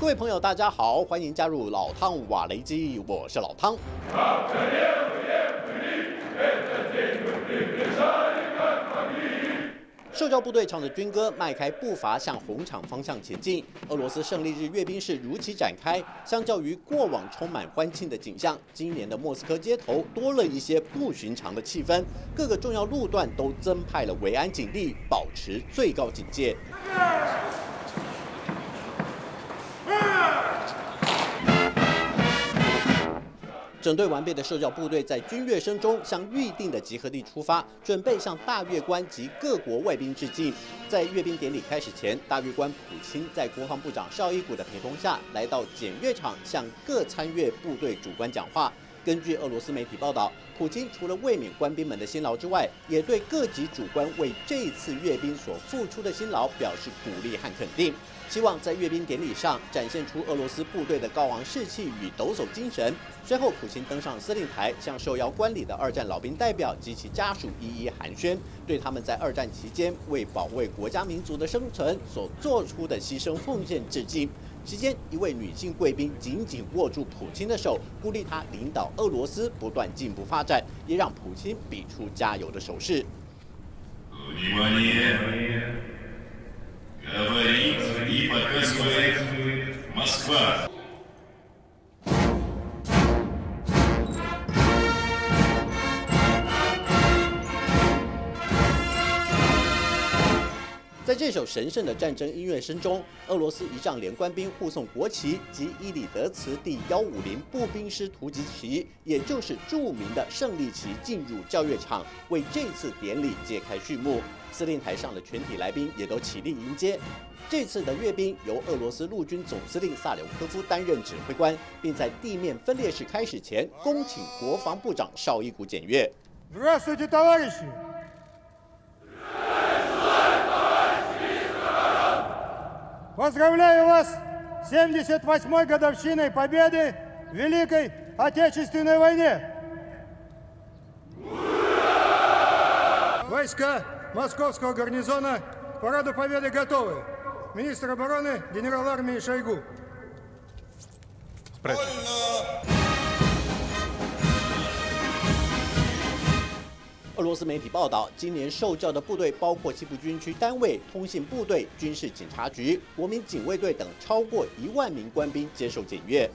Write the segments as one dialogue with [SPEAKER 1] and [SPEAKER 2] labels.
[SPEAKER 1] 各位朋友，大家好，欢迎加入老汤瓦雷基，我是老汤。受教部队唱着军歌，迈开步伐向红场方向前进。俄罗斯胜利日阅兵式如期展开。相较于过往充满欢庆的景象，今年的莫斯科街头多了一些不寻常的气氛。各个重要路段都增派了维安警力，保持最高警戒。整队完备的受教部队在军乐声中向预定的集合地出发，准备向大阅官及各国外宾致敬。在阅兵典礼开始前，大阅官普钦在国防部长绍伊古的陪同下，来到检阅场向各参阅部队主官讲话。根据俄罗斯媒体报道，普京除了慰勉官兵们的辛劳之外，也对各级主官为这次阅兵所付出的辛劳表示鼓励和肯定，希望在阅兵典礼上展现出俄罗斯部队的高昂士气与抖擞精神。随后，普京登上司令台，向受邀观礼的二战老兵代表及其家属一一寒暄，对他们在二战期间为保卫国家民族的生存所做出的牺牲奉献致敬。期间，一位女性贵宾紧紧握住普京的手，鼓励他领导俄罗斯不断进步发展，也让普京比出加油的手势。在这首神圣的战争音乐声中，俄罗斯仪仗连官兵护送国旗及伊里德茨第150步兵师突击旗，也就是著名的胜利旗，进入校阅场，为这次典礼揭开序幕。司令台上的全体来宾也都起立迎接。这次的阅兵由俄罗斯陆军总司令萨柳科夫担任指挥官，并在地面分列式开始前，恭请国防部长绍伊古检阅。
[SPEAKER 2] Здравствуйте, товарищи! Поздравляю вас с 78-й годовщиной победы в Великой Отечественной войне! Войска Московского гарнизона к параду победы готовы. Министр обороны генерал армии Шойгу.
[SPEAKER 1] 俄罗斯媒体报道，今年受教的部队包括西部军区单位、通信部队、军事警察局、国民警卫队等超过1万名官兵接受检阅。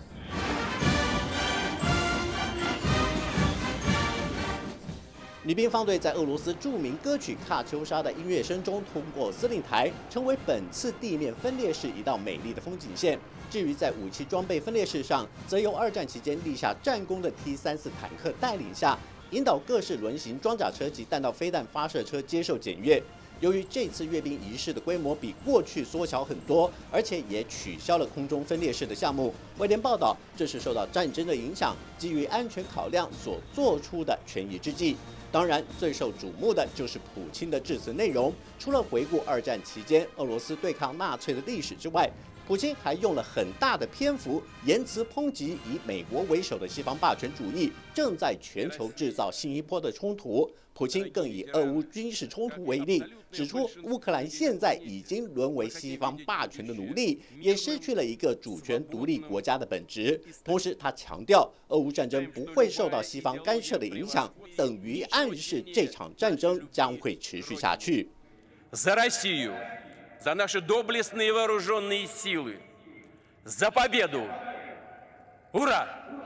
[SPEAKER 1] 女兵方队在俄罗斯著名歌曲《卡秋莎》的音乐声中通过司令台，成为本次地面分列式一道美丽的风景线。至于在武器装备分列式上，则由二战期间立下战功的 T-34坦克带领下，引导各式轮型装甲车及弹道飞弹发射车接受检阅。由于这次阅兵仪式的规模比过去缩小很多，而且也取消了空中分列式的项目，外电报道这是受到战争的影响，基于安全考量所做出的权宜之计。当然，最受瞩目的就是普京的致辞内容。除了回顾二战期间俄罗斯对抗纳粹的历史之外，普京还用了很大的篇幅，言辞抨击以美国为首的西方霸权主义正在全球制造新一波的冲突。普京更以俄乌军事冲突为例，指出乌克兰现在已经沦为西方霸权的奴隶，也失去了一个主权独立国家的本质。同时，他强调，俄乌战争不会受到西方干涉的影响，等于暗示这场战争将会持续下去。
[SPEAKER 3] За Россию, за наши доблестные вооруженные силы, за победу! Ура!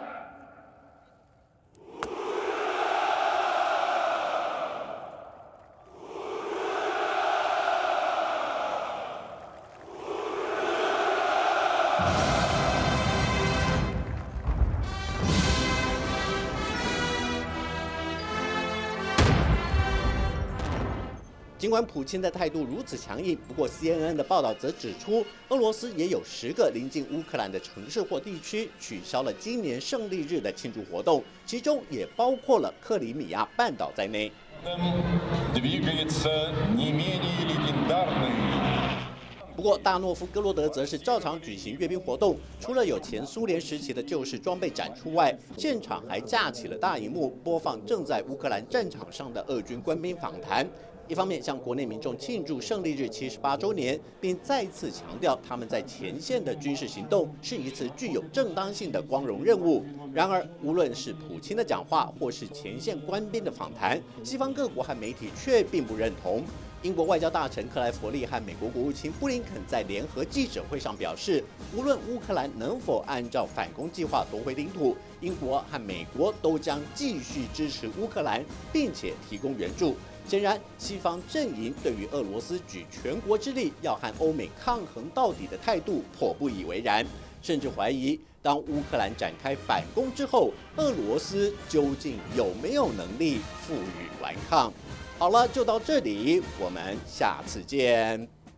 [SPEAKER 1] 尽管普京的态度如此强硬，不过 CNN 的报道则指出，俄罗斯也有10个临近乌克兰的城市或地区取消了今年胜利日的庆祝活动，其中也包括了克里米亚半岛在内。不过，大诺夫哥罗德则是照常举行阅兵活动，除了有前苏联时期的旧式装备展出外，现场还架起了大荧幕，播放正在乌克兰战场上的俄军官兵访谈。 一方面向国内民众庆祝胜利日78周年，并再次强调他们在前线的军事行动是一次具有正当性的光荣任务。然而，无论是普京的讲话，或是前线官兵的访谈，西方各国和媒体却并不认同。英国外交大臣克莱弗利和美国国务卿布林肯在联合记者会上表示，无论乌克兰能否按照反攻计划夺回领土，英国和美国都将继续支持乌克兰，并且提供援助。显然，西方阵营对于俄罗斯举全国之力要和欧美抗衡到底的态度颇不以为然，甚至怀疑，当乌克兰展开反攻之后，俄罗斯究竟有没有能力负隅顽抗？好了，就到这里，我们下次见。